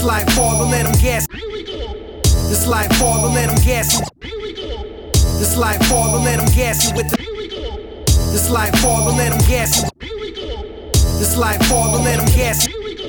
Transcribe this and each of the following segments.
life father, let them gas. This life father, let them gas you. This life father, let them gas you with the. This life father, let them gas you. This life father, let them gas you.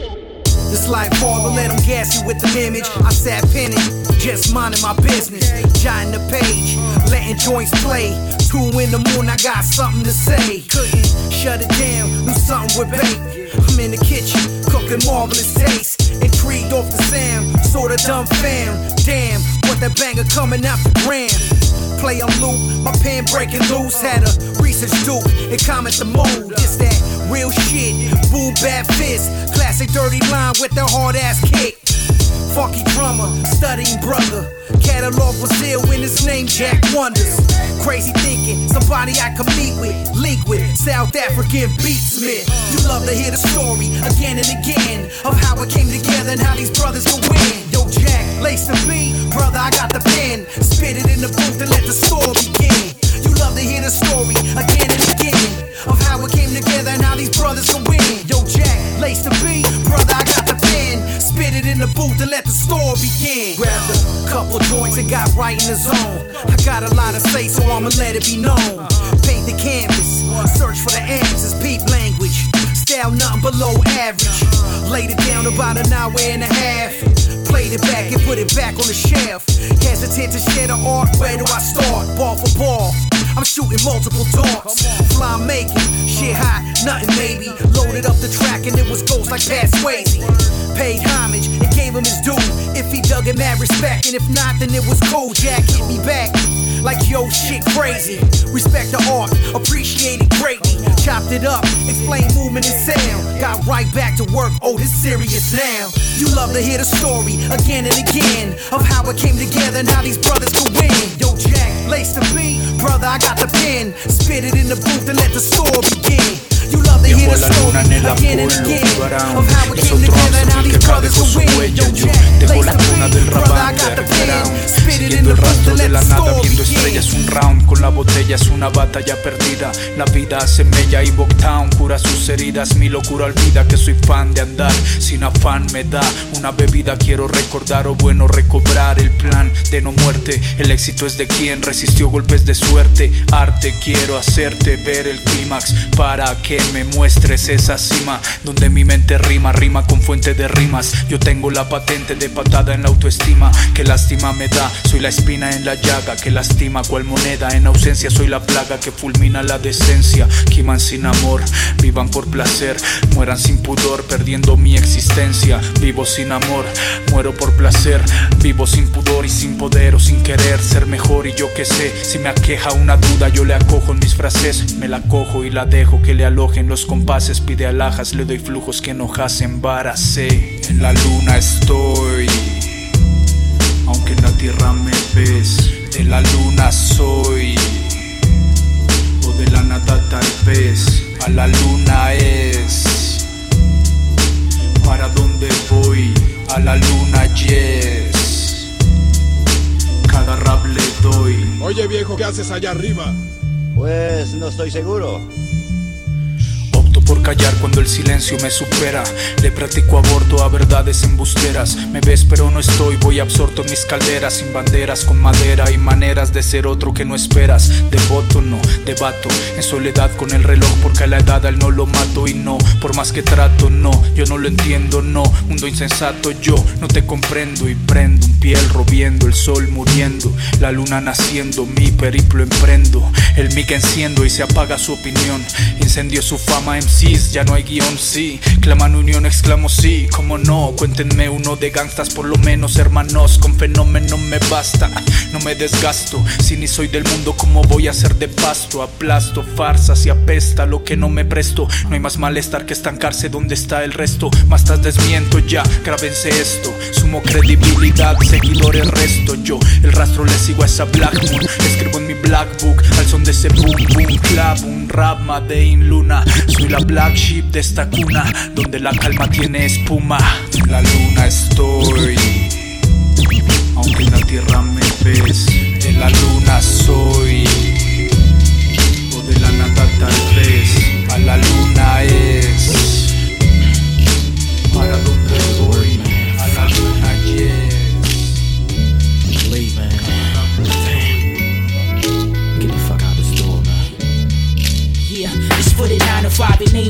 This life father, let them gas you with the image. I sat penning, just minding my business, jotting the page, letting joints play. 2 in the morning, I got something to say. Couldn't shut it down, knew something would bake. I'm in the kitchen, cooking marvelous taste. Intrigued off the sound, sorta dumb fam. Damn, what that banger coming out the gram. Play on loop, my pen breaking loose. Had a research dupe and comment the mood. It's that real shit, boom bad fist. Classic dirty line with the hard ass kick. Funky drummer, studying brother. Catalog was ill when his name Jack Wonders. Crazy thinking, somebody I could meet with. Link with, South African beatsmith. You love to hear the story again and again of how it came together and how these brothers could win. Yo Jack, lace the beat, brother I got the pen. Spit it in the booth and let the story begin. You love to hear the story again and again of how it came together and how these brothers could win. Yo Jack, lace the beat, brother I got the pen. Spit it in the booth and let the story begin. Grabbed a couple joints and got right in the zone. I got a lot to say, so I'ma let it be known. Paint the canvas, search for the answers, peep language. Style nothing below average. Laid it down about an hour and a half. Played it back and put it back on the shelf. Hesitant to share the art, where do I start? Ball for ball, I'm shooting multiple darts. Fly making, shit hot, nothing maybe. Loaded up the track and it was ghost like Pat Swayze. Paid homage and gave him his due. If he dug it, mad respect, and if not, then it was cool. Jack hit me back like yo shit crazy. Respect the art, appreciate it greatly. Chopped it up, explain movement and sound. Got right back to work, oh this serious now. You love to hear the story again and again of how it came together and how these brothers could win. Yo Jack, lace the beat, brother I got the pen. Spit it in the booth and let the story begin. You love to hear the story again and again of how it came together and how these brothers could win. Yo Jack, lace the beat, brother I got the pen. Spit it in the booth and let the story begin. Es un round con la botella, es una batalla perdida. La vida hace mella y Bocktown cura sus heridas. Mi locura olvida que soy fan de andar sin afán. Me da una bebida, quiero recordar o bueno recobrar el plan de no muerte. El éxito es de quien resistió golpes de suerte. Arte, quiero hacerte ver el clímax para que me muestres esa cima donde mi mente rima con fuente de rimas. Yo tengo la patente de patada en la autoestima. Que lástima me da, soy la espina en la llaga que lastima cual moneda en ausencia. Soy la plaga que fulmina la decencia. Quiman sin amor, vivan por placer, mueran sin pudor, perdiendo mi existencia. Vivo sin amor, muero por placer. Vivo sin pudor y sin poder o sin querer ser mejor. Y yo que sé, si me aqueja una duda yo le acojo en mis frases. Me la cojo y la dejo que le alojen los compases. Pide alhajas, le doy flujos que enojas embaracé. En la luna estoy, aunque en la tierra me ves. De la luna soy, o de la nada tal vez. A la luna es, ¿para dónde voy? A la luna yes, cada rap le doy. Oye viejo, ¿qué haces allá arriba? Pues no estoy seguro. Por callar cuando el silencio me supera. Le practico aborto a verdades embusteras. Me ves pero no estoy, voy absorto en mis calderas. Sin banderas, con madera y maneras de ser otro que no esperas. Devoto no, debato en soledad con el reloj. Porque a la edad al no lo mato y no, por más que trato no. Yo no lo entiendo, no, mundo insensato. Yo no te comprendo y prendo un piel robiendo. El sol muriendo, la luna naciendo. Mi periplo emprendo, el mic enciendo y se apaga su opinión. Incendio su fama en ya no hay guión, sí. Claman unión, exclamo sí. Como no, cuéntenme uno de gangstas por lo menos, hermanos. Con fenómeno me basta, no me desgasto. Si ni soy del mundo, ¿cómo voy a ser de pasto? Aplasto farsas y apesta lo que no me presto. No hay más malestar que estancarse donde está el resto. Más tas desmiento ya, grábense esto. Sumo credibilidad, seguidores resto. Yo el rastro le sigo a esa Black Moon. Escribo en mi black book al son de ese boom boom clap. Un rap made in luna. Soy la black sheep de esta cuna donde la calma tiene espuma. En la luna estoy, aunque en la tierra me ves. De la luna soy, o de la nada tal vez. A la luna es, ¿para dónde voy? A la luna.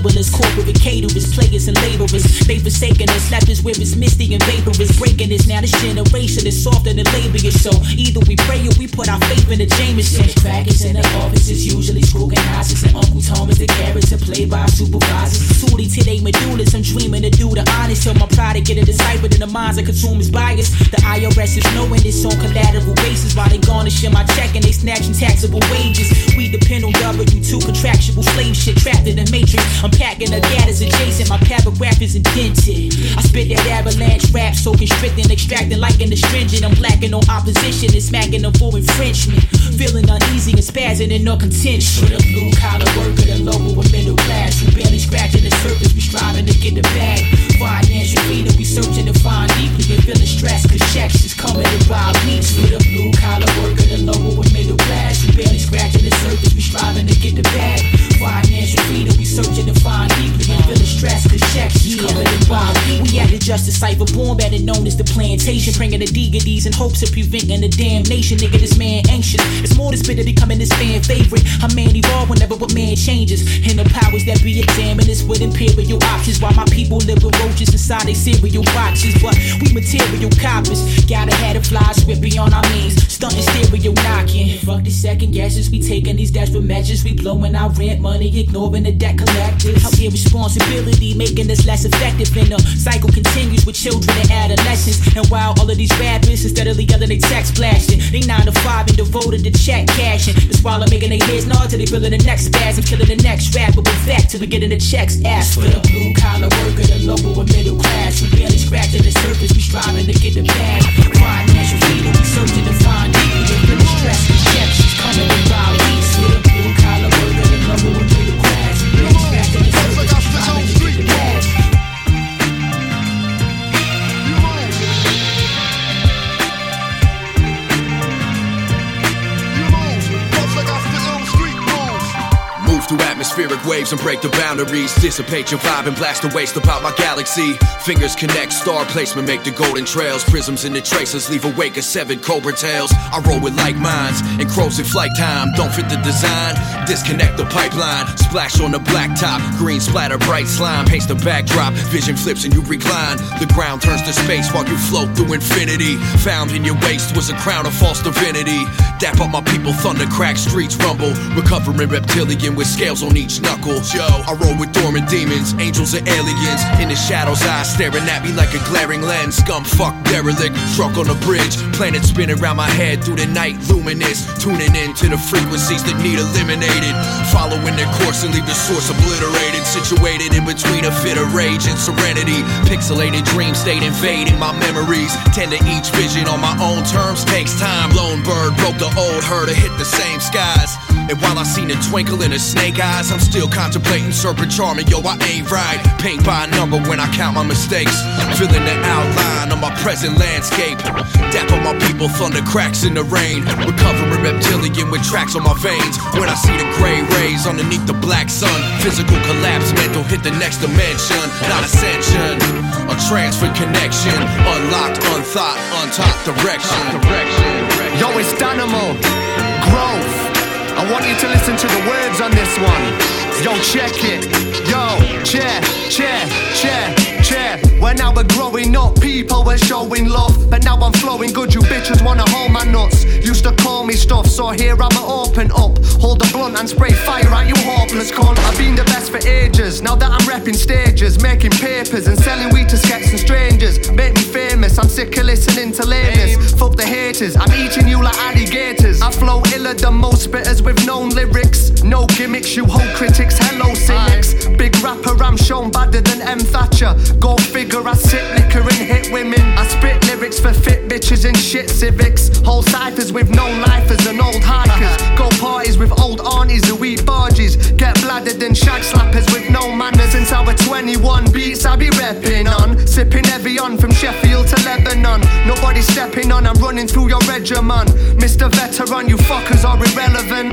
labelers, corporate caterers, players and laborers. They forsaken us, left us where it's misty and vaporous. Breaking us, now this generation is softer than labia. So either we pray or we put our faith in the Jameson. Crackers in the offices, usually scrutinizers, and Uncle Tom is the character played by supervisors. Tootie to they medullas, I'm dreaming to do the honest. Till my pride to get it deciphered in the minds of consumers' bias. The IRS is knowing this on collateral basis. While they garnishing my check and they snatching taxable wages. We depend on W2 contractual slave shit trapped in the matrix. I'm packing the data's adjacent, my paragraph is indented. I spit that avalanche rap, so constricting, extracting like an astringent. I'm blacking on opposition and smacking them for infringement. Feeling uneasy and spazzing in no contention. For the blue collar worker, the lower or middle class, who barely scratching the surface, we striving to get the bag. Financial freedom, we searching to find deeply and feeling stressed, cause checks is coming to buy beats. For the blue collar worker, the lower or middle class, who barely scratching the surface, we striving to get the bag. Financial freedom, we searching to find deeply and feeling stressed, cause checks is coming to buy beats. We at the Justice Cipher, born better known as the plantation, bringing the diggedies in hopes of preventing the damnation. Nigga, this man anxious. It's more to spit to becoming this fan favorite. A man evolve whenever what man changes. And the powers that be examine this with imperial options. While my people live with roaches inside their cereal boxes. But we material coppers. Gotta have the fly swift beyond our means. Stunting stereo knocking. Fuck the second guesses. We taking these desperate measures. We blowing our rent money, ignoring the debt collectors. Out here responsibility making us less effective. And the cycle continues with children and adolescents. And while all of these rappers instead of yelling they text blasting, they 9 to 5 and devoted to check cashing. The swallow making their heads nod till they feeling the next spasm, killing the next rapper with fact till we getting the checks asked for. The blue collar worker, the lower or middle class, we barely scratching the surface, we striving to get the bag. Financial freedom, we searching to find deeply and feeling stressed, the checks is coming to buy beats. For the blue collar worker, the lower or middle class, we barely scratching the surface, we striving to get the bag. Through atmospheric waves and break the boundaries. Dissipate your vibe and blast the waste about my galaxy. Fingers connect, star placement, make the golden trails. Prisms in the traces, leave a wake of 7 cobra tails. I roll with like minds, and crows in flight time. Don't fit the design, disconnect the pipeline. Splash on the blacktop, green splatter, bright slime. Paints the backdrop, vision flips and you recline. The ground turns to space while you float through infinity. Found in your waist was a crown of false divinity. Dap up my people, thunder crack, streets rumble. Recovering reptilian with scales on each knuckle. Yo, I roll with dormant demons, angels and aliens. In the shadows, eyes staring at me like a glaring lens. Scum fuck derelict, struck on a bridge. Planet spinning around my head through the night, luminous. Tuning in to the frequencies that need eliminated. Following their course and leave the source obliterated. Situated in between a fit of rage and serenity. Pixelated dream state invading my memories. Tend to each vision on my own terms, takes time. Lone bird broke the old herd to hit the same skies. And while I seen a twinkle in her snake eyes, I'm still contemplating serpent charming, yo, I ain't right. Paint by a number when I count my mistakes. Feeling the outline of my present landscape. Dap on my people, thunder cracks in the rain. Recovering reptilian with tracks on my veins. When I see the gray rays underneath the black sun. Physical collapse, mental hit the next dimension. Not ascension, a transfer connection. Unlocked, unthought, untaught direction. Yo, it's Dynamo, growth. I want you to listen to the words on this one. Yo, check it. Yo, chair. When I was growing up, people were showing love. But now I'm flowing good, you bitches wanna hold my nuts. Used to call me stuff, so here I'ma open up. Hold a blunt and spray fire at you hopeless cunt. I've been the best for ages, now that I'm repping stages. Making papers and selling weed to skets and strangers. Make me famous, I'm sick of listening to lameness. Fuck the haters, I'm eating you like alligators. I flow iller than most spitters with known lyrics. No gimmicks, you hold critics, hello cynics. Big rapper, I'm shown badder than M. Thatcher. Go figure, I sip liquor and hit women. I spit lyrics for fit bitches and shit civics. Whole ciphers with known lifers and old hikers. Go parties with old aunties who eat barges. Get bladdered and shag slappers with no manners. Since I was 21, beats I be repping on. Sipping heavy on from Sheffield to Lebanon. Nobody stepping on, I'm running through your regimen. Mr. Veteran, you fuckers are irrelevant.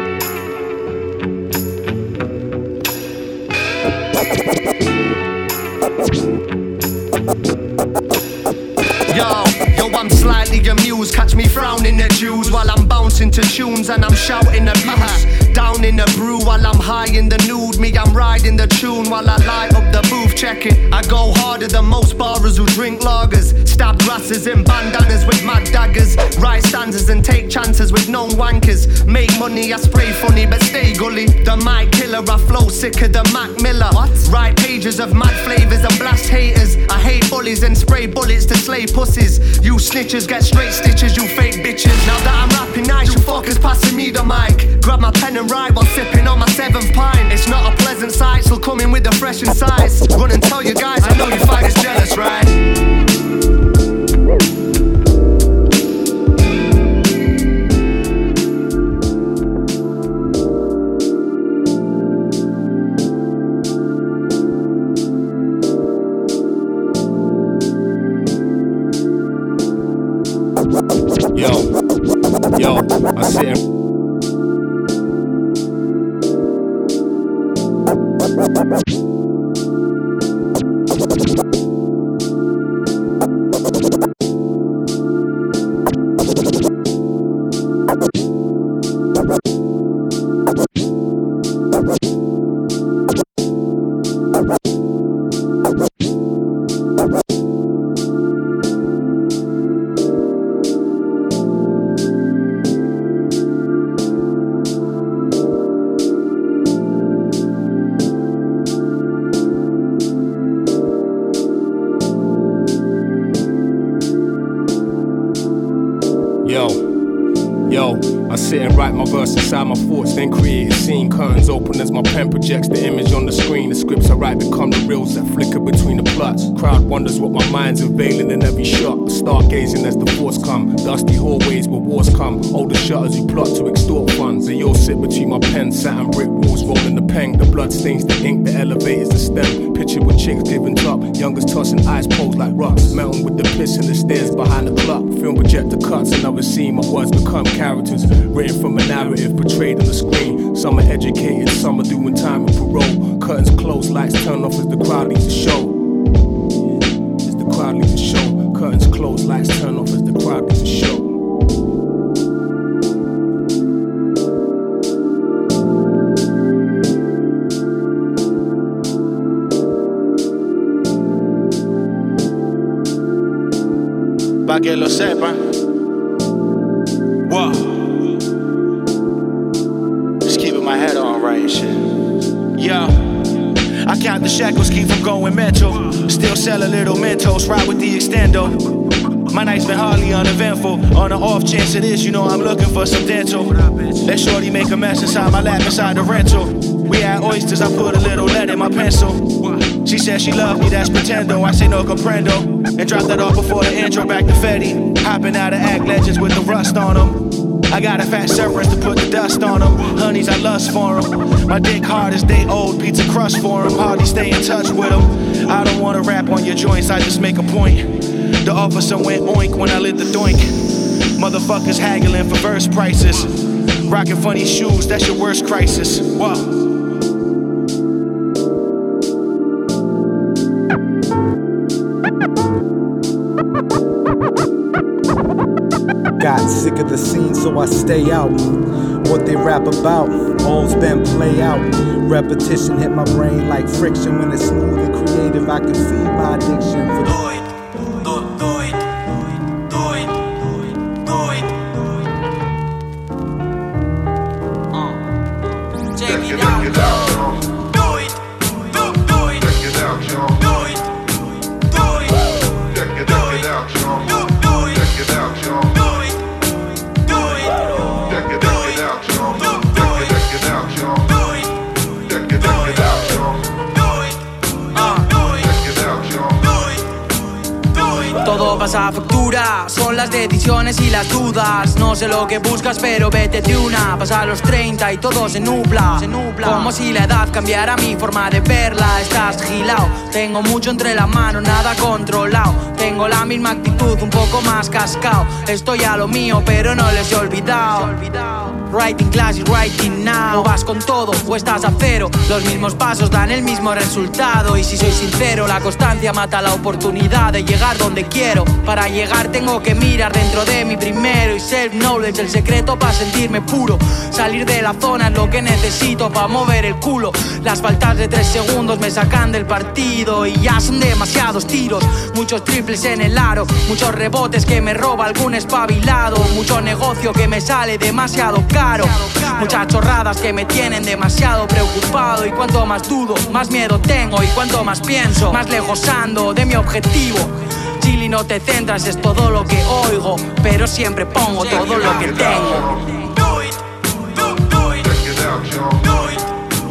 Yo, I'm slightly amused. Catch me frowning at Jews while I'm bouncing to tunes and I'm shouting abuse. Down in the brew while I'm high in the nude. Me, I'm riding the tune while I light up the booth. Check it, I go harder than most barrers who drink lagers. Stab grasses in bandanas with mad daggers. Write stanzas and take chances with known wankers. Make money, I spray funny but stay gully. The mic killer, I flow sicker than Mac Miller. What? Write pages of mad flavors and blast haters. I hate bullies and spray bullets to slay pussies. You snitches get straight stitches, you fake bitches. Now that I'm rapping nice, you fuckers passing me the mic. Grab my pen and write while sipping on my 7th pint. It's not a pleasant sight, still coming with the fresh insights. Run and tell you guys, I know you fighters jealous, right? Yo, I sit and I sit and write my verse inside my thoughts, then create a scene. Curtains open as my pen projects the image on the screen. The scripts I write become the reels that flicker between the plots. Crowd wonders what my mind's unveiling in every shot. Stargazing as the force come. Dusty hallways where wars come. Older shutters who plot to extort funds. They all sit between my pen, satin brick walls, rolling the pen. The blood stains the ink, the elevators, the stem. Picture with chicks giving top. Youngers tossing eyes posed like rocks. Melting with the piss in the stairs behind the clock. Film projector cuts, another scene. My words become characters. Written from a narrative portrayed on the screen. Some are educated, some are doing time and parole. Curtains closed, lights turn off as the crowd leaves the show. As the crowd leaves the show. Curtains closed, lights turn off as the crowd leaves the show. Pa' que lo sepan. Whoa. Just keeping my head on right and shit. Yo, I count the shekels, keep from going mental. Still sell a little Mentos, ride with the extendo. My night's been hardly uneventful. On the off chance it is, you know I'm looking for some dental. Let shorty make a mess inside my lap inside the rental. We had oysters, I put a little lead in my pencil. She said she loved me, that's pretendo. I say no comprendo. And drop that off before the intro, back to Fetty. Hopping out of act legends with the rust on them. I got a fat Cerberus to put the dust on them. Honeys, I lust for them. My dick hard as they old, pizza crust for them. Hardly stay in touch with them. I don't wanna rap on your joints, I just make a point. The officer went oink when I lit the doink. Motherfuckers haggling for verse prices. Rocking funny shoes, that's your worst crisis. Whoa. Got sick of the scene, so I stay out. What they rap about, all's been play out. Repetition hit my brain like friction. When it's smooth and creative, I can feed my addiction. For Todo pasa a factura, son las decisiones y las dudas. No sé lo que buscas, pero vete de una. Pasa a los 30 y todo se nubla. Como si la edad cambiara mi forma de verla. Estás gilao, tengo mucho entre la mano, nada controlado. Tengo la misma actitud, un poco más cascao. Estoy a lo mío, pero no les he olvidado. Writing class y writing now. O vas con todo o estás a cero. Los mismos pasos dan el mismo resultado. Y si soy sincero, la constancia mata la oportunidad de llegar donde quiero. Para llegar tengo que mirar dentro de mí primero. Y self-knowledge, el secreto para sentirme puro. Salir de la zona es lo que necesito para mover el culo. Las faltas de 3 segundos me sacan del partido. Y ya son demasiados tiros, muchos triples en el aro, muchos rebotes que me roba algún espabilado, mucho negocio que me sale demasiado caro, muchas chorradas que me tienen demasiado preocupado. Y cuanto más dudo, más miedo tengo. Y cuanto más pienso, más lejos ando de mi objetivo. Chili, no te centras, es todo lo que oigo, pero siempre pongo todo lo que tengo. Do it, do it, check it out, y'all. Do it,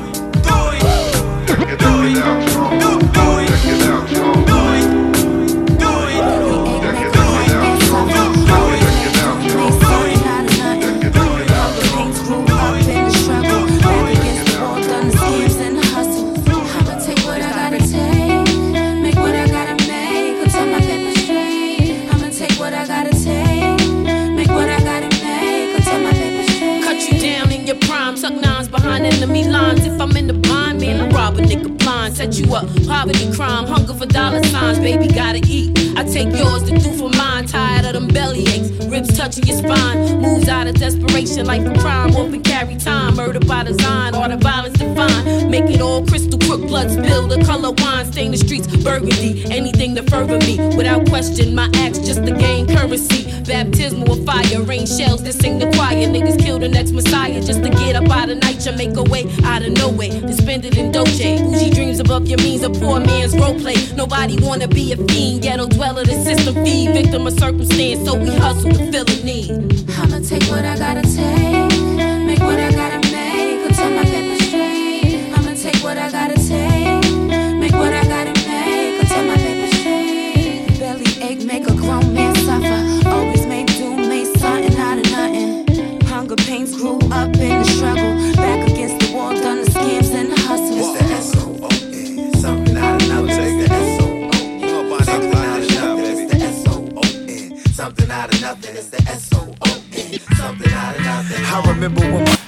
do it, check it out, y'all. Do it, check it out, y'all. Do it, do it, check it out, y'all. Do it, check it out, y'all. Do it, check it out, y'all. Things grew up in the struggle, back against the wall, done the schemes and the hustle. I'ma take what I gotta take, make what I gotta make, go tell my paper straight. I'ma take what I gotta take, make what I gotta make, go tell my paper straight. Cut you down in your prime, suck nines behind enemy lines. If I'm in the blind, man, I rob a nigga blind. Set you up, poverty, crime, hunger for dollar signs. Baby, gotta eat. I take yours to do for mine. Tired of them belly aches, ribs touching your spine. Moves out of desperation, like a crime. Often carry time, murder by design. All the violence defined. Make it all crystal, crook blood spill. The color wine, stain the streets burgundy. Anything to further me, without question. My acts just to gain currency. Baptismal of fire, rain shells that sing the choir. Niggas kill the next messiah just to get up out of night. You make a way out of no way. Then spend it in doje. Bougie dreams above your means, a poor man's role play. Nobody wanna be a fiend. Ghetto dweller, the system feed. Victim of circumstance, so we hustle to fill a need. I'ma take what I gotta take, make what I gotta make, go tell my paper straight. I'ma take what I gotta take, make what I gotta make, go tell my paper straight. Belly ache, make a grown man suffer. Always made do, made something out of nothing. Hunger pains grew up in the struggle, back against the wall, done the schemes and the hustle. It's the S-O-O-N, something out of nothing. Take the S-O-O-N, something out of nothing. It's the S-O-O-N, something out of nothing. It's the S-O-O-N, something out of nothing. I remember when my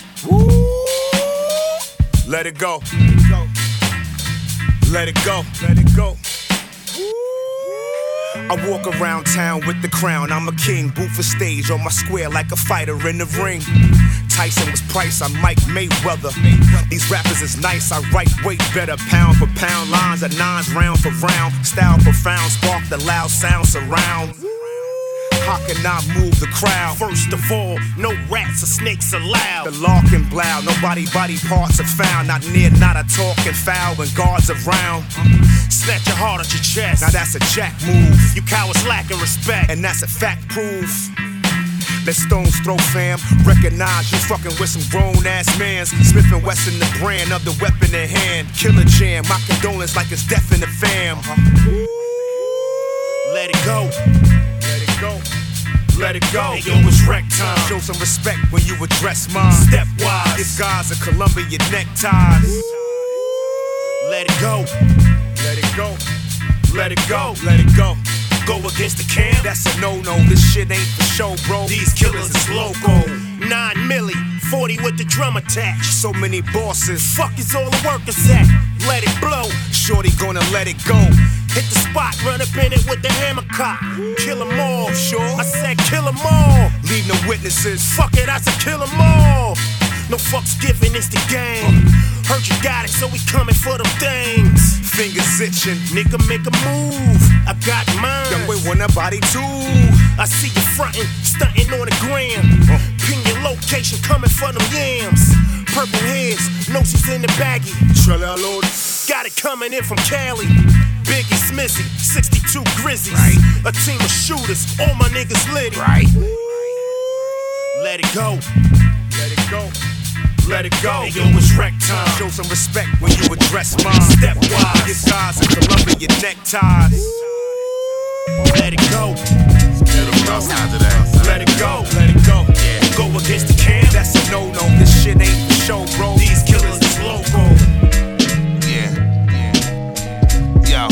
let it go. Let it go. Let it go. I walk around town with the crown. I'm a king, booth for stage on my square like a fighter in the ring. Tyson was Price, I'm Mike Mayweather. These rappers is nice, I write way better. Pound for pound, lines of nines, round for round. Style profound, spark the loud sound surround. How can I move the crowd? First of all, no rats or snakes allowed. The larkin blow, nobody body parts are found. Not near, not a talking foul when guards around. Snatch your heart at your chest. Now that's a jack move. You cowards lacking respect, and that's a fact proof. Let stones throw, fam. Recognize you fucking with some grown ass mans. Smith & Wesson, the brand of the weapon in hand. Killer jam, my condolence like it's death in the fam. Let it go. Let it go. Let it go. Hey, yo, it's wreck time. Show some respect when you address mine. Stepwise. This guy's a Columbia neckties. Let it go. Let it go. Let it go. Let it go. Go against the camp. That's a no-no. This shit ain't for show, bro. These killers is loco. 9 milli, 40 with the drum attached. So many bosses. Fuck is all the workers at? Let it blow. Shorty gonna let it go. Hit the spot, run up in it with the hammer cock. Kill them all, sure. I said kill them all. Leave no witnesses. Fuck it, I said kill them all. No fucks given, it's the game. Heard you got it, so we coming for them things. Fingers itching, nigga make a move. I got mine. Young boy want a body too. I see you frontin', stuntin' on the gram. Pin your location, coming for them yams. Purple heads, no she's in the baggie. Got it coming in from Cali. Biggie Smizzy, 62 Grizzlies. Right. A team of shooters, all my niggas lit. Right. Let it go. Let it go. Let it go. Hey, yo, it's wreck time. Show some respect when you address mine. Stepwise. This guy's a Columbia neckties. Let it go. Let it go. Let it go. Yeah. Go against the camp. That's a no-no. This shit ain't for show, bro. These killers is loco. Yeah. Yo.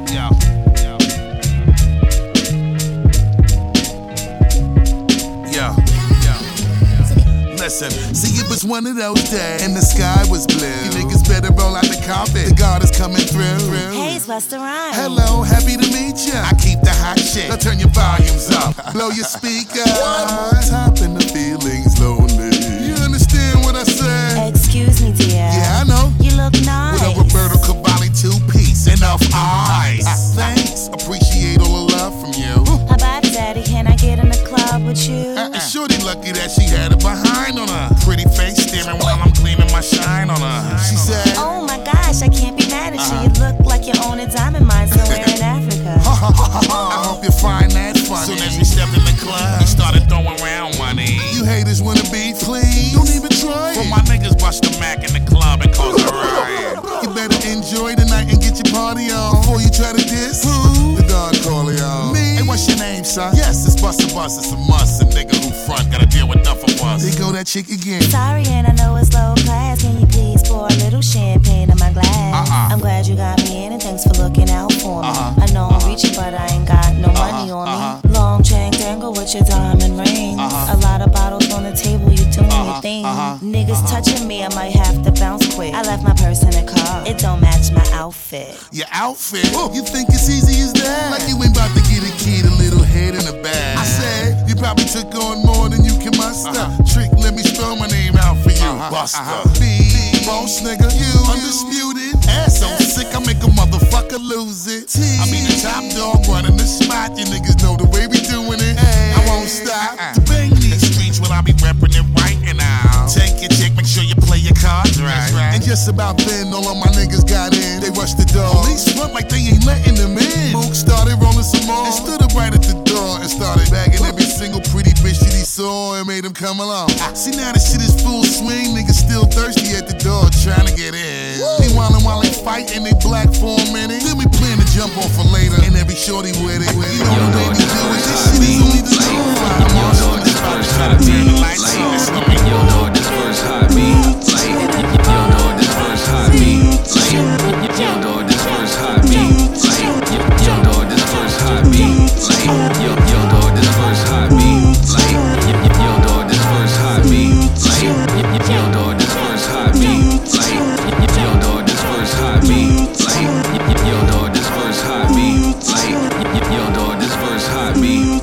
Listen, see it was one of those days, and the sky was blue. You niggas better roll out the carpet. The God is coming through. Hey, it's Busta Rhymes. Hello, happy to meet ya. I keep the hot shit. Now turn your volumes up. Blow your speaker. Top in the feelings lonely. You understand what I said? Excuse me, dear. Yeah, I know. You look nice. With a Roberto Cavalli 2-piece. Enough eyes. Thanks. Appreciate all the love from you. How about it, Daddy? Can I get in the club with you? Shorty lucky that she had it behind on her. Pretty face staring while I'm gleaming my shine on her. She said, oh my gosh, I can't be mad at you. You look like you own a diamond mine somewhere in Africa. I hope you find that funny. Soon as we stepped in the club, we started throwing around money. You haters wanna be clean, don't even try it. Well, my niggas bust the Mac in the club and cause a riot. You better enjoy the night and get your party on before you try to diss. Who? The Don Corleone. Me? Hey, what's your name, son? Yes, it's Busta Bus, it's a must. A nigga who front gotta deal with enough of us. There go that chick again. Sorry, and I know it's low class. Can you please pour a little champagne in my glass? I'm glad you got me in, and thanks for looking out for me. I know I'm reaching, but I ain't got no money on me. Long chain tangle with your diamond ring. A lot of bottles on the table, you doing your thing. Niggas touching me, I might have to bounce quick. I left my purse in the car, it don't match my outfit. Your outfit? You think it's easy as that? Like you ain't about to get a kid a little head in the bag. I said, you probably took on more than you can muster. Trick, let me spell my name out for you. Buster. Boss nigga, you undisputed. Ass so sick, I make a motherfucker lose it. I be the top dog running the spot. You niggas know the way we doing it. I won't stop to bang these streets when I be reppin' it right now. Take your chick, make sure you play your cards right. And just about then, all of my niggas got in. They rushed the door. Police front like they ain't letting them in. Mook started rolling some more and stood up right at the door and started bagging every single pretty bitch that he saw and made him come along. See, now this shit is full swing. Niggas still thirsty at the door trying to get in. Meanwhile, while they fighting, they black for a minute. Then we plan to jump off for later and every shorty with it. You know the way we do it. This shit is only the truth. I'm also this first hot beat. Yo, know this first hot beat. Yo, know this first hot beat. Yo, know this first hot beat. Yo, know this first hot beat. Yo, know this first hot beat. Yo, know this first hot beat. Yo, know this first hot beat. Yo, know this first hot beat. Yo, know this first hot beat. Yo, know this first hot beat.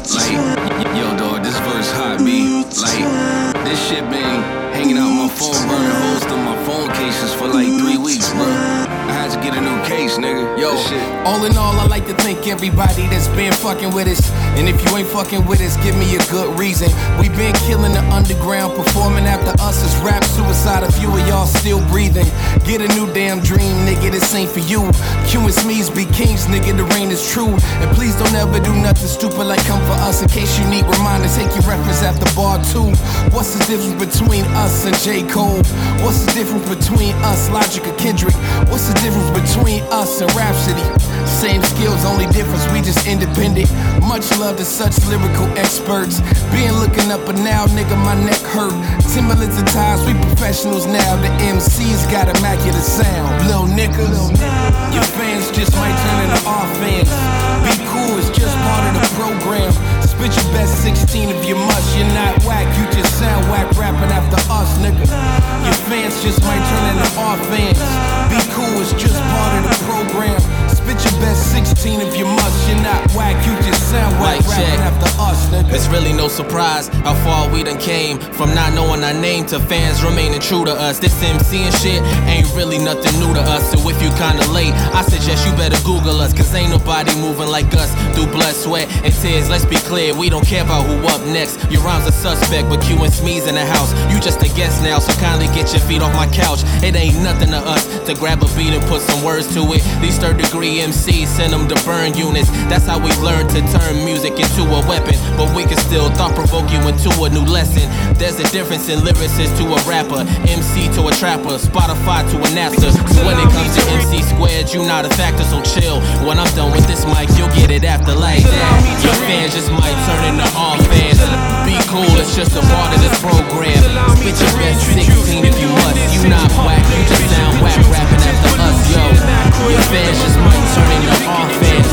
Yo, know this first hot beat. This shit been hanging out my phone, burning holes through my phone cases for like 3 weeks, bro. I had to get a new case, nigga. Yo, all in all, I like to thank everybody that's been fucking with us. And if you ain't fucking with us, give me a good reason. We been killing the underground, performing after us is rap suicide. A few of y'all still breathing. Get a new damn dream, nigga, this ain't for you. Q and Smeeze be kings, nigga, the reign is true. And please don't ever do nothing stupid like come for us. In case you need reminders, take your reference at the bar too. What's the difference between us and J. Cole? What's the difference between us, Logic or Kendrick? What's the difference between us and Rhapsody? Same skills, only difference, we just independent. Much love to such lyrical experts. Being looking up and now, nigga, my neck hurt. Timberlands and ties, we professionals now. The MC's got immaculate sound. Lil' nigga, your fans just might turn into our fans. Be cool, it's just part of the program. Spit your best 16 if you must. You're not whack, you just sound whack rapping after us, nigga. Your fans just might turn into our fans. Be cool, it's just part of the program. Spit your best 16 if you must. You're not whack, you just sound whack rapping after us, nigga. It's really no surprise how far we done came from not knowing our name to fans remaining true to us. This MC and shit ain't really nothing new to us. So if you kinda late, I suggest you better Google us. Cause ain't nobody moving like us through blood, sweat, and tears. Let's be clear, we don't care about who up next. Your rhymes are suspect, but Q and Smeeze in the house. You just a guest now, so kindly get your feet off my couch. It ain't nothing to us to grab a beat and put some words to it. These third-degree MCs send them to burn units. That's how we've learned to turn music into a weapon. But we can still thought-provoke you into a new lesson. There's a difference in lyricist to a rapper, MC to a trapper, Spotify to a Napster. So when it comes to MC squared, you not a factor, so chill. When I'm done with this mic, you'll get it after like that. Your fans just might turn into all fans. Be cool, it's just a part of this program. Spit your best 16 if you must. You not whack, you just sound whack rapping after us, yo. Your fans just might turn into all fans.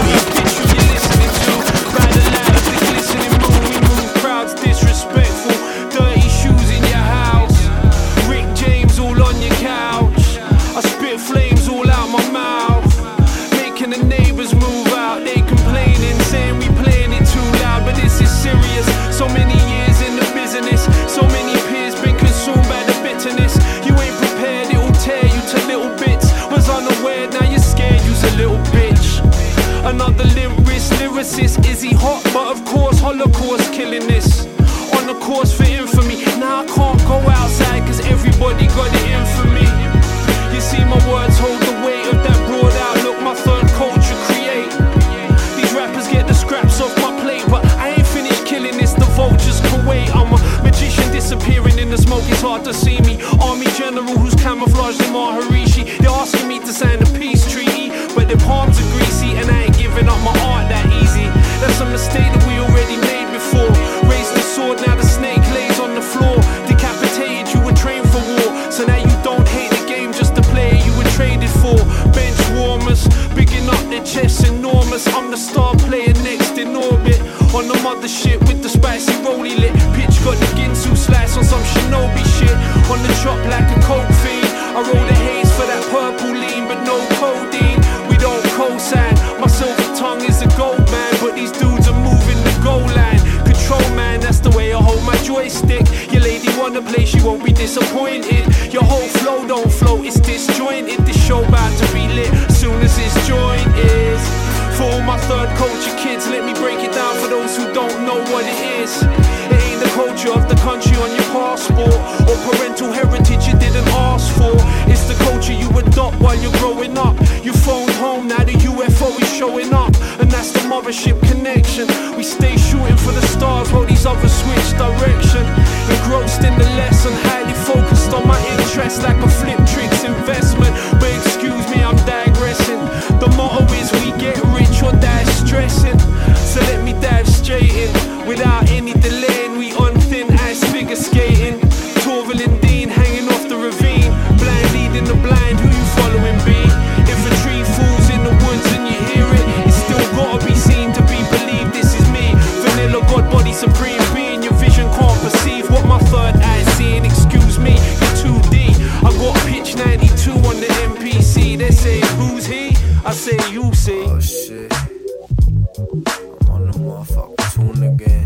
Crowds disrespectful, dirty shoes in your house, Rick James all on your couch. I spit flames all out my mouth, making the neighbors move out. They complaining, saying we really hot, but of course Holocaust killing this. On the course for infamy. Now I can't go outside cause everybody got it in for me. You see my words hold the weight of that broad outlook my third culture create. These rappers get the scraps off my plate, but I ain't finished killing this, the vultures can wait. I'm a magician disappearing in the smoke, it's hard to see me. Army general who's camouflaged in Maharishi. They're asking me to sign a peace treaty, but their palms are greasy and I ain't giving up my art that easy. That's a mistake that we already made before. Raised the sword, now the snake lays on the floor. Decapitated, you were trained for war, so now you don't hate the game, just the player you were traded for. Bench warmers, bigging up their chests enormous. I'm the star player next in orbit, on the mothership with the spicy rolly lit. Pitch got the Ginsu slice on some shinobi shit. On the chop like a coke fiend. I roll the haze for that purple lean, but no codeine. We don't co-sign. My silver tongue is a gold man, but these dudes are moving the goal line. Control man, that's the way I hold my joystick. Your lady wanna play, she won't be disappointed. Your whole flow don't flow, it's disjointed. This show bout to be lit soon as its joint is. For all my third culture kids, let me break it down for those who don't know what it is. It ain't the culture of the country on your passport, or parental heritage you didn't ask for. It's the culture you adopt while you're growing up. You phoned home, now the UFO is showing up, and that's the mothership connection. We stay shooting for the stars while these others switch direction. Engrossed in the lesson, highly focused on my interest like a flip tricks investment. But excuse me, I'm digressing. The motto is we get rich or die stressing. So let me dive straight in without any delaying. We on thin ice figure skating. Torval and Dean hanging off the ravine. Blind leading the blind, who you following B? If a tree falls in the woods and you hear it, it's still gotta be seen to be believed. This is me, vanilla god body supreme being. Your vision can't perceive what my third eye's seeing. Excuse me, you're 2D. I got pitch 92 on the MPC. They say who's he? I say you see. Oh shit, I'm on the motherfucking tune again.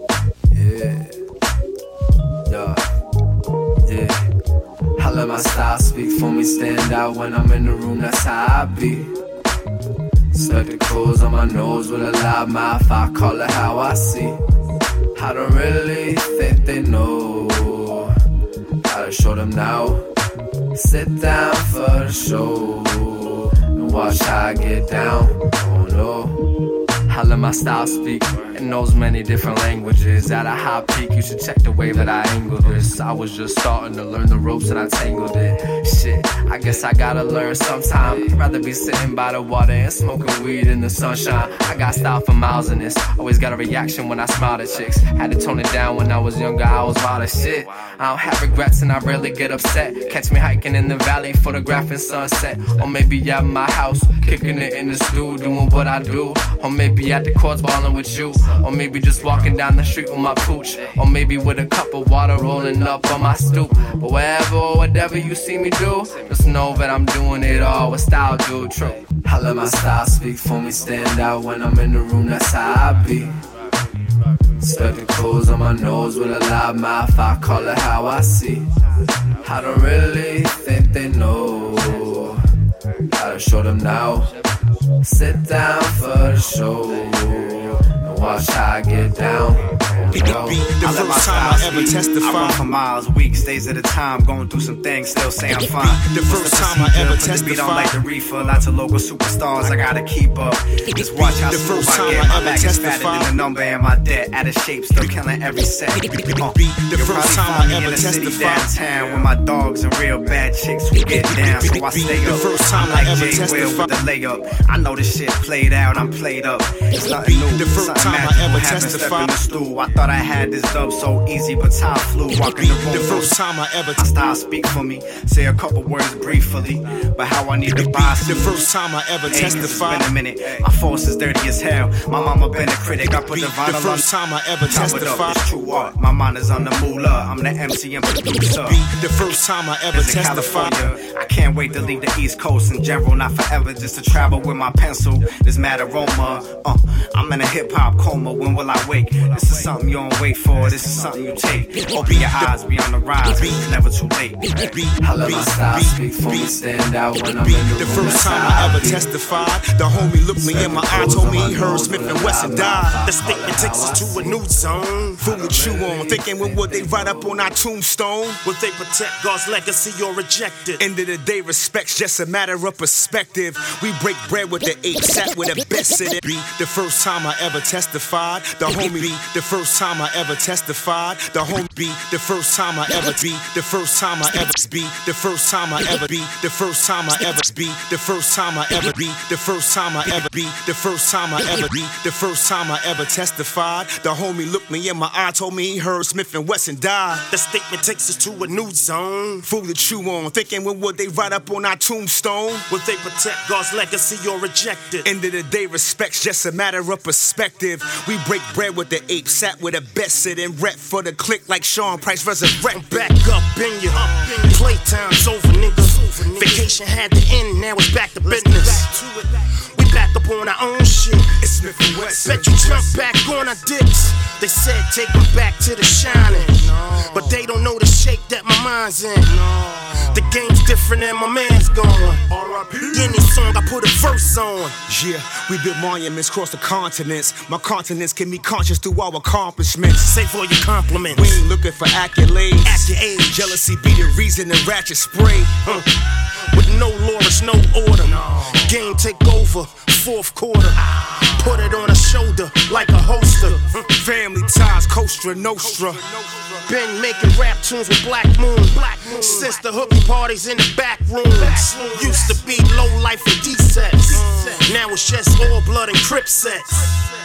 Yeah. I let my style speak for me, stand out when I'm in the room, that's how I be. Spectacles on my nose with a loud mouth, I call it how I see. I don't really think they know. Gotta show them now. Sit down for the show and watch how I get down. Oh no, I let my style speak in those many different languages. At a high peak, you should check the way that I angled this. I was just starting to learn the ropes and I tangled it. Shit, I guess I gotta learn sometime. I'd rather be sitting by the water and smoking weed in the sunshine. I got style for miles in this. Always got a reaction when I smile at chicks. Had to tone it down when I was younger, I was wild as shit. I don't have regrets and I rarely get upset. Catch me hiking in the valley, photographing sunset. Or maybe at my house, kicking it in the stool, doing what I do. Or maybe at the courts ballin' with you. Or maybe just walking down the street with my pooch. Or maybe with a cup of water rolling up on my stoop. But wherever or whatever you see me do, just know that I'm doing it all with style, dude. True. I let my style speak for me, stand out when I'm in the room, that's how I be. Spectacles on my nose with a loud mouth, I call it how I see. I don't really think they know. Gotta show them now. Sit down for the show and watch how I get down. I let my style speak. I run for miles, weeks, days at a time, going through some things, still say I'm fine. The first time I ever testified. Beat on like the reefer, lots of local superstars, I gotta keep up. Just watch how smooth I get. My back is fatter than the number and my debt. Out of shape, still killing every set. The first time I ever testified. Downtown with my dogs and real bad chicks who get down, so I stay up. The first time I ever like Jay Will with the layup. I know this shit played out, I'm played up. It's nothing new. The first time I ever testified. I thought I had this dub so easy, but time flew. Walking the room. The first time I ever my style speak for me. Say a couple words briefly, but how I need to buy some. The first time I ever testified. It's been a minute. My force is dirty as hell. My mama been a critic. I put the vinyl on. The first time I ever testified. It's true art. My mind is on the moolah. I'm the MC and producer. The first time I ever testified. I can't wait to leave the East Coast in general, not forever, just to travel with my pencil. This mad aroma, I'm in a hip hop coma. When will I wake? This is something you don't wait for. This is something you take. Open your eyes, be on the rise. It's never too late. I let my style speak for me, stand out when I'm in the first time I ever testified. The homie looked me in my eye, told me he heard Smith and Wesson died. The statement takes us to a new zone. Fool to chew on, thinking when would they write up on our tombstone? Would they protect God's legacy or reject it? End of the day, respect's just a matter of perspective. We break bread with the apes, sat with the best in it. Be the first time I ever testified. The homie be the first time I ever testified. The homie be the first time I ever be. The first time I ever be. The first time I ever be. The first time I ever be. The first time I ever be. The first time I ever be. The first time I ever be. The first time I ever testified. The homie looked me in my eye, told me he heard Smith and Wesson died. The statement takes us to a new zone. Fool to chew on, thinking when would they write up on our tombstone? Would they protect God's legacy or reject it? End of the day, respect's just a matter of perspective. We break bread with the apes, sat with the best, sit and rep for the click like Sean Price resurrect. Back up in you, playtime's over, nigga. Vacation had to end, now it's back to business. We back up on our own shit. It's Smith and Wesson. Bet you jump back on our dicks. They said take them back to the shining, but they don't know the shape that my mind's in. The game's different and my man's gone. Any song I put a verse on. Yeah, we built monuments across the continents. My continents can be conscious through our accomplishments. Say for your compliments. We ain't looking for accolades. At your age. Jealousy be the reason the ratchet spray. With no lawyers, no order. Game take over, fourth quarter. Put it on a shoulder like a holster. Family ties, Costa Nostra. Been making rap tunes with Black Moon. Since the hooky parties in the back rooms. Used to be low life and D-sets. Now it's just all blood and Crip sets.